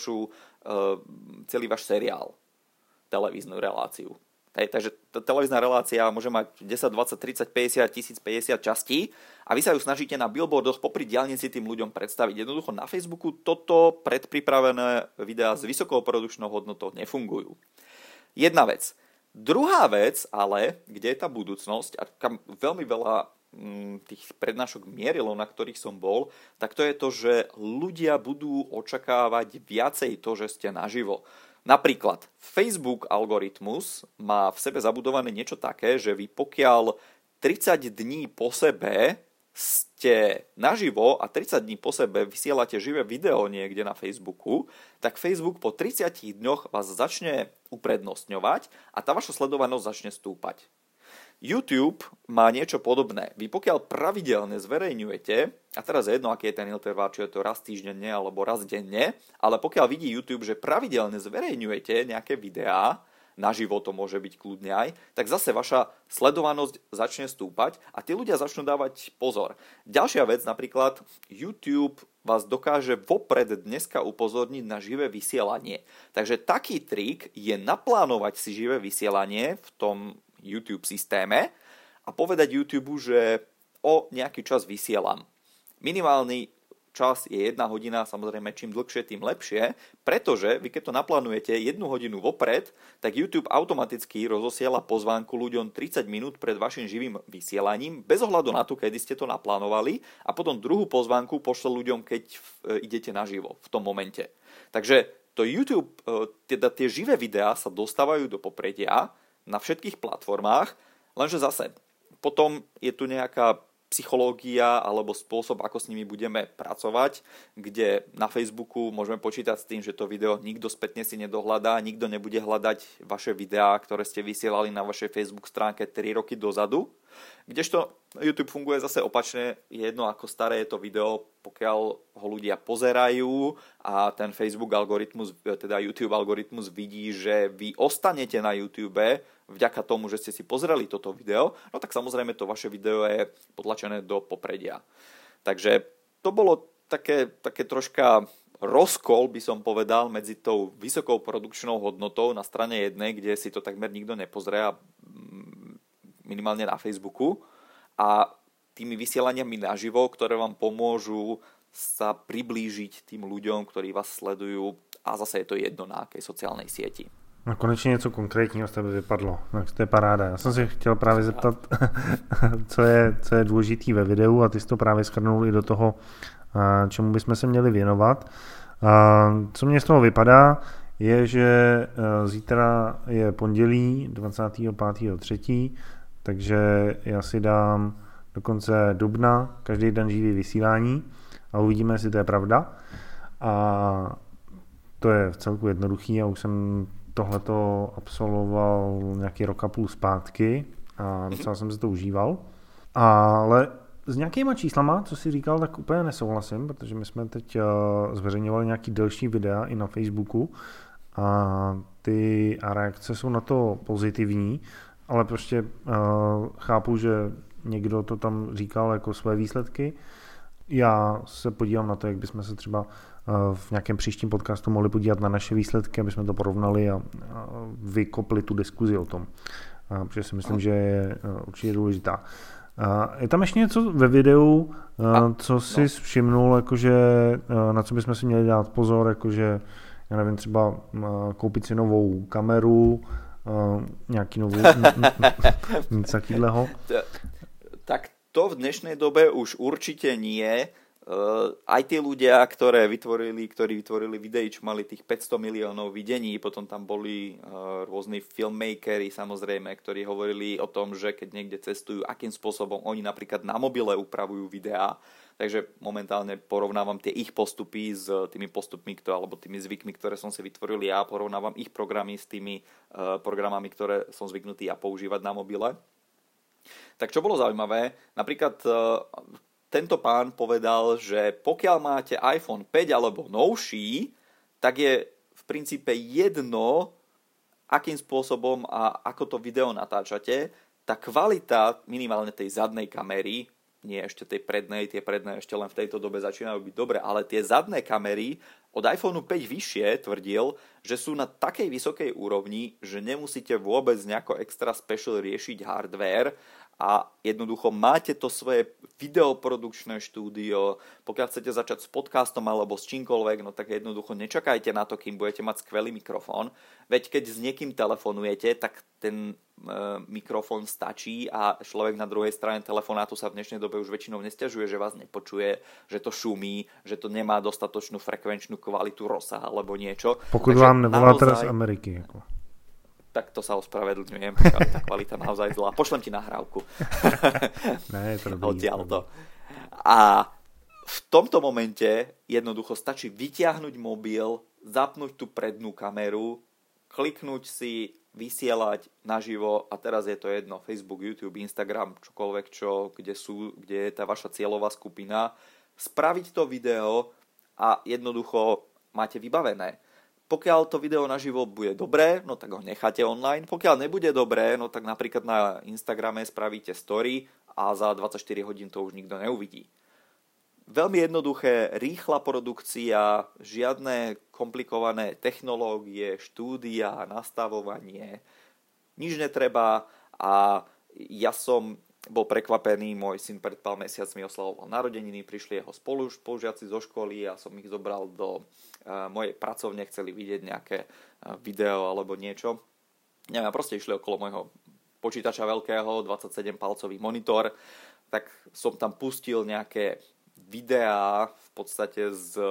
celý váš seriál, televíznu reláciu. Takže televízna relácia môže mať 10, 20, 30, 50, 1050 častí a vy sa ju snažíte na billboardoch popri diaľnici tým ľuďom predstaviť. Jednoducho na Facebooku toto predpripravené videá s vysokou produkčnou hodnotou nefungujú. Jedna vec. Druhá vec, ale, kde je tá budúcnosť, a kam veľmi veľa tých prednášok mierilo, na ktorých som bol, tak to je to, že ľudia budú očakávať viacej to, že ste naživo. Napríklad Facebook algoritmus má v sebe zabudované niečo také, že vy pokiaľ 30 dní po sebe ste naživo a 30 dní po sebe vysielate živé video niekde na Facebooku, tak Facebook po 30 dňoch vás začne uprednostňovať a tá vaša sledovanosť začne stúpať. YouTube má niečo podobné. Vy pokiaľ pravidelne zverejňujete, a teraz je jedno, aký je ten interval, či je to raz týždenne alebo raz denne, ale pokiaľ vidí YouTube, že pravidelne zverejňujete nejaké videá, naživo to môže byť kľudne aj, tak zase vaša sledovanosť začne stúpať a tí ľudia začnú dávať pozor. Ďalšia vec, napríklad YouTube vás dokáže vopred dneska upozorniť na živé vysielanie. Takže taký trik je naplánovať si živé vysielanie v tom YouTube systéme a povedať YouTube, že o nejaký čas vysielam. Minimálny čas je 1 hodina, samozrejme čím dlhšie, tým lepšie, pretože vy keď to naplánujete 1 hodinu vopred, tak YouTube automaticky rozosiela pozvánku ľuďom 30 minút pred vašim živým vysielaním, bez ohľadu na to, kedy ste to naplánovali, a potom druhú pozvánku pošle ľuďom, keď idete naživo v tom momente. Takže to YouTube, teda tie živé videá sa dostávajú do popredia na všetkých platformách, lenže zase potom je tu nejaká psychológia alebo spôsob, ako s nimi budeme pracovať, kde na Facebooku môžeme počítať s tým, že to video nikto spätne si nedohľadá, nikto nebude hľadať vaše videá, ktoré ste vysielali na vašej Facebook stránke 3 roky dozadu. Kdežto YouTube funguje zase opačne, je jedno ako staré je to video, pokiaľ ho ľudia pozerajú a ten Facebook algoritmus, teda YouTube algoritmus vidí, že vy ostanete na YouTube vďaka tomu, že ste si pozreli toto video, no tak samozrejme to vaše video je potlačené do popredia. Takže to bolo také troška rozkol, by som povedal, medzi tou vysokou produkčnou hodnotou na strane jednej, kde si to takmer nikto nepozrie, minimálne na Facebooku, a tými vysielaniami naživo, ktoré vám pomôžu sa priblížiť tým ľuďom, ktorí vás sledujú, a zase je to jedno na akej sociálnej sieti. No konečně něco konkrétního z tebe vypadlo, tak to je paráda. Já jsem se chtěl právě zeptat, co je důležitý ve videu, a ty jsi to právě shrnul i do toho, čemu bychom se měli věnovat. Co mě z toho vypadá, je, že zítra je pondělí 25.3., takže já si dám do konce dubna každý den živý vysílání a uvidíme, jestli to je pravda. A to je v celku jednoduchý, já už jsem tohleto absolvoval nějaký rok a půl zpátky a docela jsem se to užíval. Ale s nějakýma číslama, co jsi říkal, tak úplně nesouhlasím, protože my jsme teď zveřejňovali nějaký delší videa i na Facebooku a ty reakce jsou na to pozitivní, ale prostě chápu, že někdo to tam říkal jako své výsledky. Já se podívám na to, jak bychom se třeba v nějakém příštím podcastu mohli podívat na naše výsledky, aby jsme to porovnali a vykopli tu diskuzi o tom, protože si myslím, že je určitě důležitá. Je tam ještě něco ve videu, co jsi všimnul, jakože, na co bychom si měli dát pozor, jakože, já nevím, třeba koupit si novou kameru, nějaký novou, nic takového? Tak to v dnešnej dobe už určite nie. Aj tí ľudia, ktorí vytvorili videí, čo mali tých 500 miliónov videní, potom tam boli rôzni filmmakeri, samozrejme, ktorí hovorili o tom, že keď niekde cestujú, akým spôsobom oni napríklad na mobile upravujú videá. Takže momentálne porovnávam tie ich postupy s tými postupmi, alebo tými zvykmi, ktoré som si vytvoril ja, porovnávam ich programy s tými programami, ktoré som zvyknutý ja používať na mobile. Tak čo bolo zaujímavé, napríklad tento pán povedal, že pokiaľ máte iPhone 5 alebo novší, tak je v princípe jedno, akým spôsobom a ako to video natáčate. Tá kvalita minimálne tej zadnej kamery, nie ešte tej prednej, tie predné ešte len v tejto dobe začínajú byť dobre, ale tie zadné kamery od iPhone 5 vyššie tvrdil, že sú na takej vysokej úrovni, že nemusíte vôbec nejako extra special riešiť hardware a jednoducho máte to svoje videoprodukčné štúdio. Pokiaľ chcete začať s podcastom alebo s čímkoľvek, no tak jednoducho nečakajte na to, kým budete mať skvelý mikrofón. Veď keď s niekým telefonujete, tak ten mikrofón stačí a človek na druhej strane telefonátu sa v dnešnej dobe už väčšinou nesťažuje, že vás nepočuje, že to šumí, že to nemá dostatočnú frekvenčnú kvalitu rozsah alebo niečo. Pokud takže vám nevolá teraz z Ameriky. Jako. Tak to sa ospravedlňujem, tá kvalita naozaj zlá. Pošlem ti nahrávku. Ne, to dobrý. A v tomto momente jednoducho stačí vytiahnuť mobil, zapnúť tú prednú kameru kliknúť si, vysielať naživo a teraz je to jedno, Facebook, YouTube, Instagram, čokoľvek, kde je tá vaša cieľová skupina, spraviť to video a jednoducho máte vybavené. Pokiaľ to video naživo bude dobré, no tak ho necháte online. Pokiaľ nebude dobré, no tak napríklad na Instagrame spravíte story a za 24 hodín to už nikto neuvidí. Veľmi jednoduché, rýchla produkcia, žiadne komplikované technológie, štúdia, nastavovanie, nič netreba a ja som bol prekvapený, môj syn pred pár mesiacmi oslavoval narodeniny, prišli jeho spolužiaci zo školy a som ich zobral do mojej pracovne, chceli vidieť nejaké video alebo niečo. Neviem, proste išli okolo môjho počítača veľkého, 27-palcový monitor, tak som tam pustil nejaké videá v podstate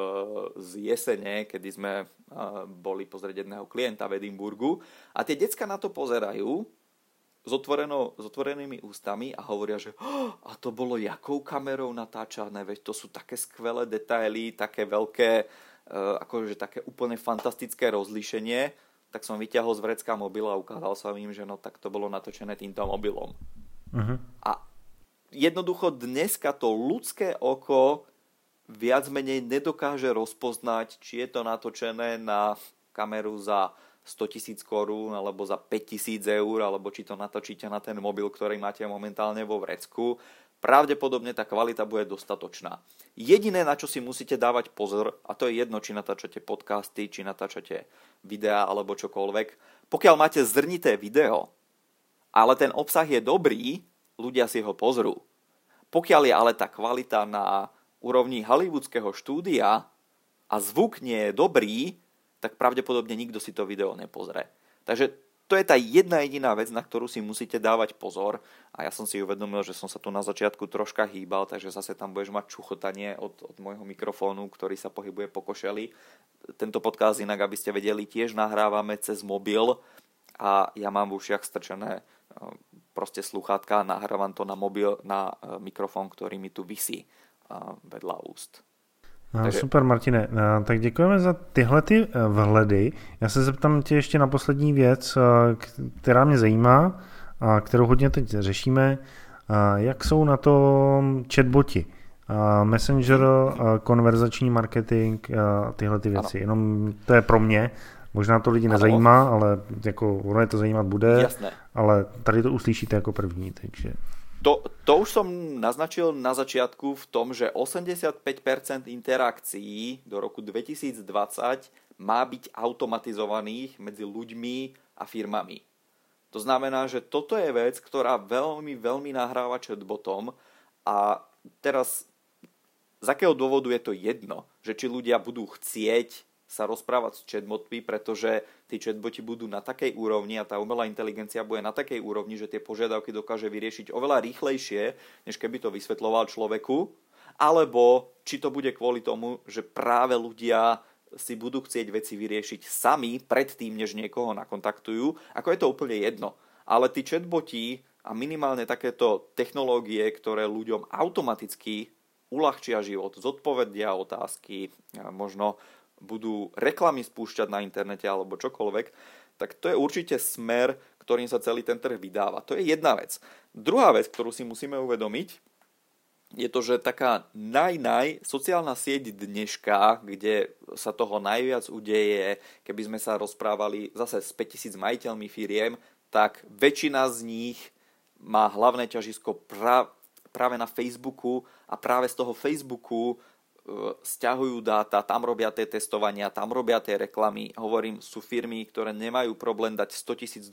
z jesene, kedy sme boli pozrieť jedného klienta v Edinburgu a tie decka na to pozerajú s otvorenými ústami a hovoria, že a to bolo jakou kamerou natáčané, veď to sú také skvelé detaily, také veľké, akože také úplne fantastické rozlíšenie, tak som vyťahol z vrecka mobil a ukázal som im, že no tak to bolo natočené týmto mobilom. Uh-huh. A jednoducho dneska to ľudské oko viac menej nedokáže rozpoznať, či je to natočené na kameru za 100 000 korún alebo za 5 000 eur, alebo či to natočíte na ten mobil, ktorý máte momentálne vo vrecku. Pravdepodobne tá kvalita bude dostatočná. Jediné, na čo si musíte dávať pozor, a to je jedno, či natáčate podcasty, či natáčate videá alebo čokoľvek, pokiaľ máte zrnité video, ale ten obsah je dobrý, ľudia si ho pozrú. Pokiaľ je ale tá kvalita na úrovni hollywoodského štúdia a zvuk nie je dobrý, tak pravdepodobne nikto si to video nepozrie. Takže to je tá jedna jediná vec, na ktorú si musíte dávať pozor. A ja som si uvedomil, že som sa tu na začiatku troška hýbal, takže zase tam budeš mať čuchotanie od môjho mikrofónu, ktorý sa pohybuje po košeli. Tento podcast inak, aby ste vedeli, tiež nahrávame cez mobil a ja mám v ušiach strčené proste slúchadka a nahrávam to na mobil, na mikrofón, ktorý mi tu visí vedľa úst. Takže... Super, Martine, tak děkujeme za tyhle ty vhledy. Já se zeptám tě ještě na poslední věc, která mě zajímá a kterou hodně teď řešíme. Jak jsou na tom chatboti? Messenger, konverzační marketing, tyhle ty věci. Ano. Jenom to je pro mě. Možná to lidi nezajímá, ale jako ono je to zajímat bude. Jasné. Ale tady to uslyšíte jako první, takže... To už som naznačil na začiatku v tom, že 85% interakcií do roku 2020 má byť automatizovaných medzi ľuďmi a firmami. To znamená, že toto je vec, ktorá veľmi, veľmi nahráva chatbotom a teraz z akého dôvodu je to jedno, že či ľudia budú chcieť sa rozprávať s chatbotmi, pretože tí chatboti budú na takej úrovni a tá umelá inteligencia bude na takej úrovni, že tie požiadavky dokáže vyriešiť oveľa rýchlejšie, než keby to vysvetľoval človeku, alebo či to bude kvôli tomu, že práve ľudia si budú chcieť veci vyriešiť sami predtým, než niekoho nakontaktujú, ako je to úplne jedno. Ale tí chatboti a minimálne takéto technológie, ktoré ľuďom automaticky uľahčia život, zodpovedia otázky, možno budú reklamy spúšťať na internete alebo čokoľvek, tak to je určite smer, ktorým sa celý ten trh vydáva. To je jedna vec. Druhá vec, ktorú si musíme uvedomiť, je to, že taká sociálna sieť dneška, kde sa toho najviac udeje, keby sme sa rozprávali zase s 5000 majiteľmi firiem, tak väčšina z nich má hlavné ťažisko práve na Facebooku a práve z toho Facebooku sťahujú dáta, tam robia tie testovania, tam robia tie reklamy. Hovorím, sú firmy, ktoré nemajú problém dať $100,000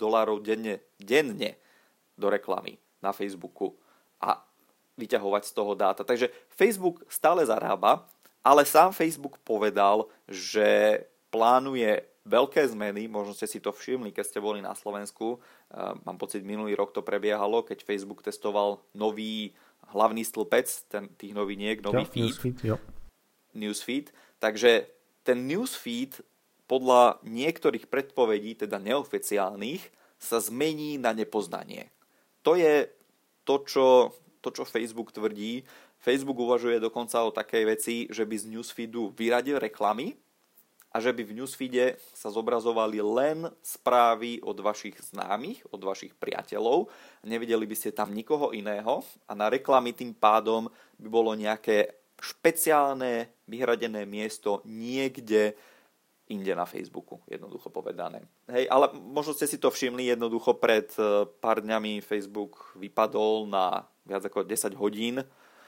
denne do reklamy na Facebooku a vyťahovať z toho dáta. Takže Facebook stále zarába, ale sám Facebook povedal, že plánuje veľké zmeny, možno ste si to všimli, keď ste boli na Slovensku. Mám pocit, minulý rok to prebiehalo, keď Facebook testoval nový hlavný stĺpec tých noviniek, nový feed. Newsfeed. Takže ten newsfeed podľa niektorých predpovedí, teda neoficiálnych, sa zmení na nepoznanie. To je to, čo Facebook tvrdí. Facebook uvažuje dokonca o takej veci, že by z newsfeedu vyradil reklamy a že by v newsfeede sa zobrazovali len správy od vašich známych, od vašich priateľov. Nevideli by ste tam nikoho iného a na reklamy tým pádom by bolo nejaké špeciálne vyhradené miesto niekde inde na Facebooku, jednoducho povedané. Hej, ale možno ste si to všimli, jednoducho pred pár dňami Facebook vypadol na viac ako 10 hodín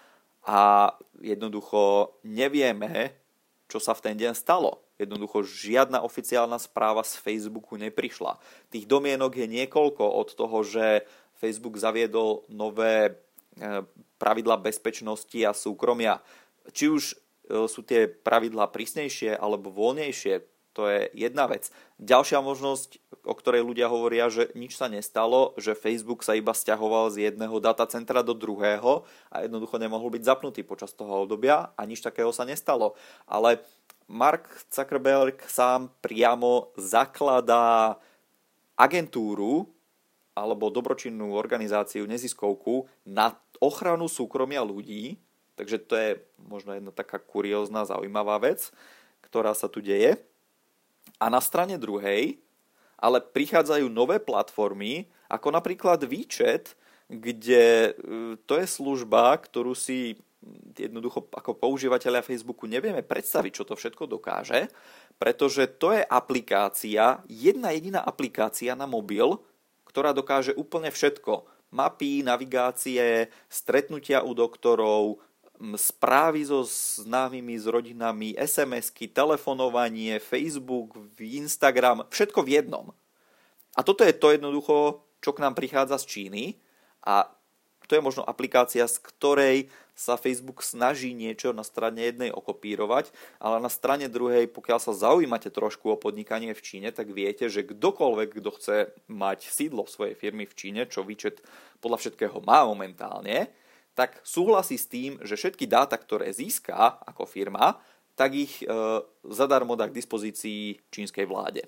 a jednoducho nevieme, čo sa v ten deň stalo. Jednoducho žiadna oficiálna správa z Facebooku neprišla. Tých domienok je niekoľko od toho, že Facebook zaviedol nové pravidlá bezpečnosti a súkromia. Či už sú tie pravidlá prísnejšie alebo voľnejšie, to je jedna vec. Ďalšia možnosť, o ktorej ľudia hovoria, že nič sa nestalo, že Facebook sa iba sťahoval z jedného datacentra do druhého a jednoducho nemohol byť zapnutý počas toho obdobia a nič takého sa nestalo. Ale Mark Zuckerberg sám priamo zakladá agentúru alebo dobročinnú organizáciu, neziskovku na ochranu súkromia ľudí. Takže to je možno jedna taká kuriózna, zaujímavá vec, ktorá sa tu deje. A na strane druhej ale prichádzajú nové platformy, ako napríklad WeChat, kde to je služba, ktorú si jednoducho ako používateľia Facebooku nevieme predstaviť, čo to všetko dokáže, pretože to je aplikácia, jedna jediná aplikácia na mobil, ktorá dokáže úplne všetko. Mapy, navigácie, stretnutia u doktorov, správy so známymi, s rodinami, SMS-ky, telefonovanie, Facebook, Instagram, všetko v jednom. A toto je to jednoducho, čo k nám prichádza z Číny a to je možno aplikácia, z ktorej sa Facebook snaží niečo na strane jednej okopírovať, ale na strane druhej, pokiaľ sa zaujímate trošku o podnikanie v Číne, tak viete, že kdokoľvek, kto chce mať sídlo svojej firmy v Číne, čo WeChat podľa všetkého má momentálne, tak súhlasí s tým, že všetky dáta, ktoré získa ako firma, tak ich zadarmo dá k dispozícii čínskej vláde.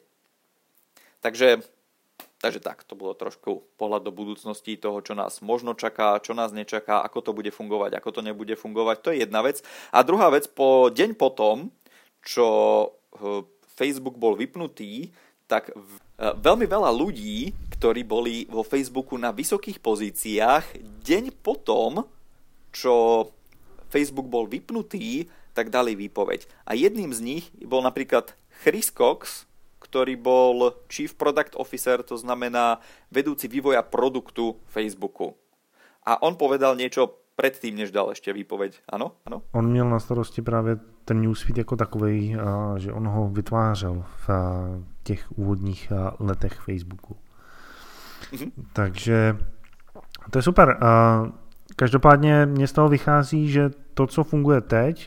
Takže tak, to bolo trošku pohľad do budúcnosti toho, čo nás možno čaká, čo nás nečaká, ako to bude fungovať, ako to nebude fungovať. To je jedna vec. A druhá vec, deň potom, čo Facebook bol vypnutý, tak veľmi veľa ľudí, ktorí boli vo Facebooku na vysokých pozíciách, deň potom, čo Facebook bol vypnutý, tak dali výpoveď. A jedným z nich bol napríklad Chris Cox, ktorý bol Chief Product Officer, to znamená vedúci vývoja produktu Facebooku. A on povedal niečo predtým, než dal ešte výpoveď. Ano? Ano? On měl na starosti právě ten newsfeed jako takovej, že on ho vytvářel v těch úvodních letech Facebooku. Takže to je super. Každopádně mě z toho vychází, že to, co funguje teď,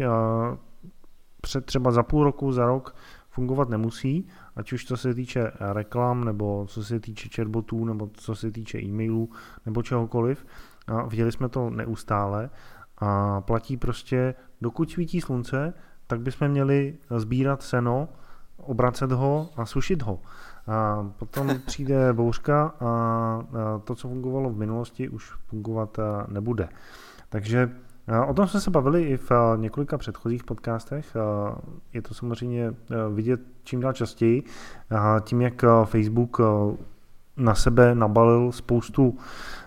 třeba za půl roku, za rok, fungovat nemusí, ať už co se týče reklam, nebo co se týče chatbotů, nebo co se týče e-mailů, nebo čehokoliv. Viděli jsme to neustále a platí prostě, dokud svítí slunce, tak bychom měli sbírat seno, obracet ho a sušit ho. A potom přijde bouřka a to, co fungovalo v minulosti, už fungovat nebude. Takže o tom jsme se bavili i v několika předchozích podcastech. Je to samozřejmě vidět čím dál častěji. Tím, jak Facebook na sebe nabalil spoustu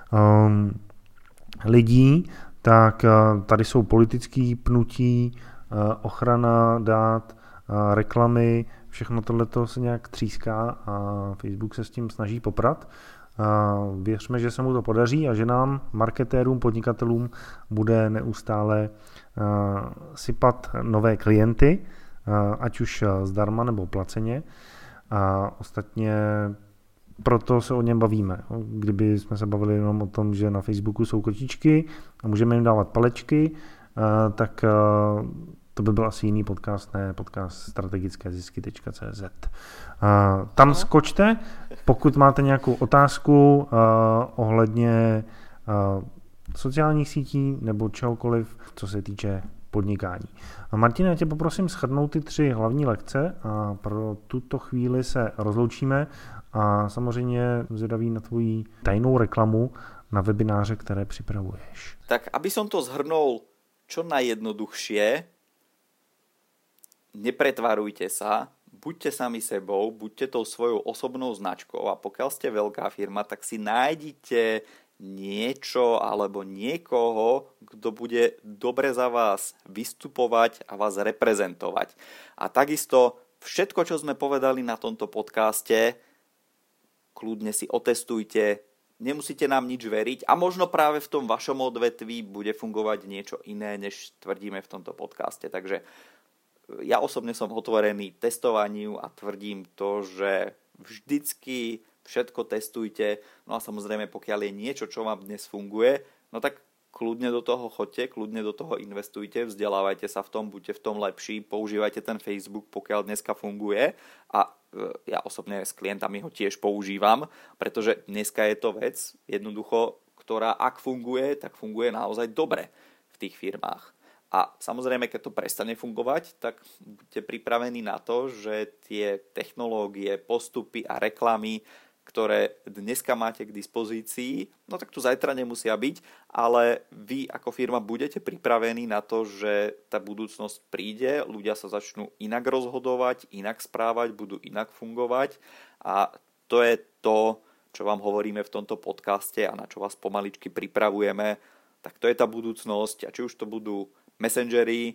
lidí, tak tady jsou politické pnutí, ochrana dát, reklamy, všechno tohleto se nějak tříská a Facebook se s tím snaží poprat. Věřme, že se mu to podaří a že nám, marketérům, podnikatelům, bude neustále sypat nové klienty, ať už zdarma nebo placeně. A ostatně proto se o něm bavíme. Kdyby jsme se bavili jenom o tom, že na Facebooku jsou kočičky a můžeme jim dávat palečky, tak to by byl asi jiný podcast, ne podcast strategickézisky.cz. Tam skočte, pokud máte nějakou otázku ohledně sociálních sítí nebo čehokoliv, co se týče podnikání. Martine, já tě poprosím shrnout ty 3 hlavní lekce a pro tuto chvíli se rozloučíme a samozřejmě zvědavý na tvoji tajnou reklamu na webináře, které připravuješ. Tak aby som to zhrnul čo najjednoduchšie, nepretvarujte sa, buďte sami sebou, buďte tou svojou osobnou značkou a pokiaľ ste veľká firma, tak si nájdite niečo alebo niekoho, kto bude dobre za vás vystupovať a vás reprezentovať. A takisto všetko, čo sme povedali na tomto podcaste, kľudne si otestujte, nemusíte nám nič veriť a možno práve v tom vašom odvetví bude fungovať niečo iné, než tvrdíme v tomto podcaste. Takže ja osobne som otvorený testovaniu a tvrdím to, že vždycky všetko testujte, no a samozrejme pokiaľ je niečo, čo vám dnes funguje, no tak kľudne do toho choďte, kľudne do toho investujte, vzdelávajte sa v tom, buďte v tom lepší, používajte ten Facebook, pokiaľ dneska funguje a ja osobne s klientami ho tiež používam, pretože dneska je to vec jednoducho, ktorá ak funguje, tak funguje naozaj dobre v tých firmách. A samozrejme, keď to prestane fungovať, tak buďte pripravení na to, že tie technológie, postupy a reklamy, ktoré dneska máte k dispozícii, no tak tu zajtra nemusia byť, ale vy ako firma budete pripravení na to, že tá budúcnosť príde, ľudia sa začnú inak rozhodovať, inak správať, budú inak fungovať a to je to, čo vám hovoríme v tomto podcaste a na čo vás pomaličky pripravujeme, tak to je tá budúcnosť a či už to budú messengery,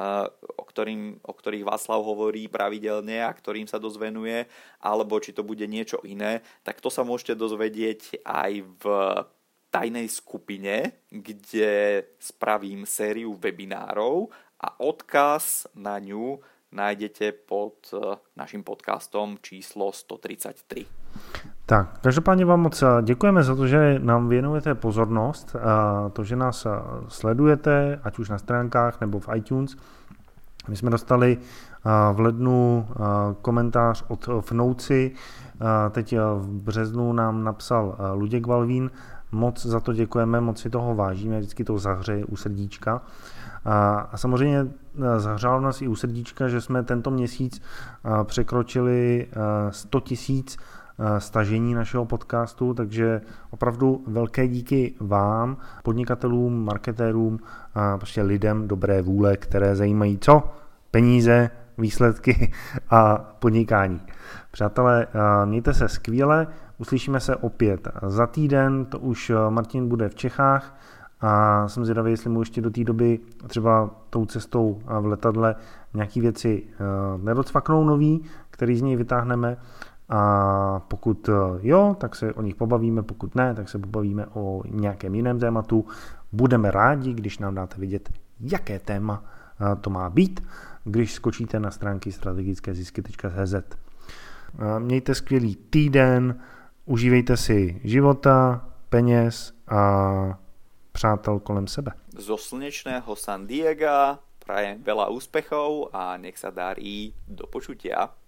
o ktorých Václav hovorí pravidelne a ktorým sa dosť venuje, alebo či to bude niečo iné, tak to sa môžete dozvedieť aj v tajnej skupine, kde spravím sériu webinárov a odkaz na ňu nájdete pod naším podcastom číslo 133. Tak, každopádně vám moc děkujeme za to, že nám věnujete pozornost, to, že nás sledujete, ať už na stránkách nebo v iTunes. My jsme dostali v lednu komentář od Vnouci, teď v březnu nám napsal Luděk Valvín, moc za to děkujeme, moc si toho vážíme, vždycky to zahřeje u srdíčka. A samozřejmě zahřálo nás i u srdíčka, že jsme tento měsíc překročili 100 000 stažení našeho podcastu, takže opravdu velké díky vám, podnikatelům, marketérům, prostě lidem dobré vůle, které zajímají co? Peníze, výsledky a podnikání. Přátelé, mějte se skvěle, uslyšíme se opět za týden, to už Martin bude v Čechách a jsem zvědavý, jestli mu ještě do té doby třeba tou cestou v letadle nějaký věci nedocvaknou nový, který z něj vytáhneme. A pokud jo, tak se o nich pobavíme, pokud ne, tak se pobavíme o nějakém jiném tématu. Budeme rádi, když nám dáte vědět, jaké téma to má být, když skočíte na stránky strategickézisky.cz. Mějte skvělý týden, užívejte si života, peněz a přátel kolem sebe. Zo slnečného San Diega prajem veľa úspechov a nech sa darí. Do počutia.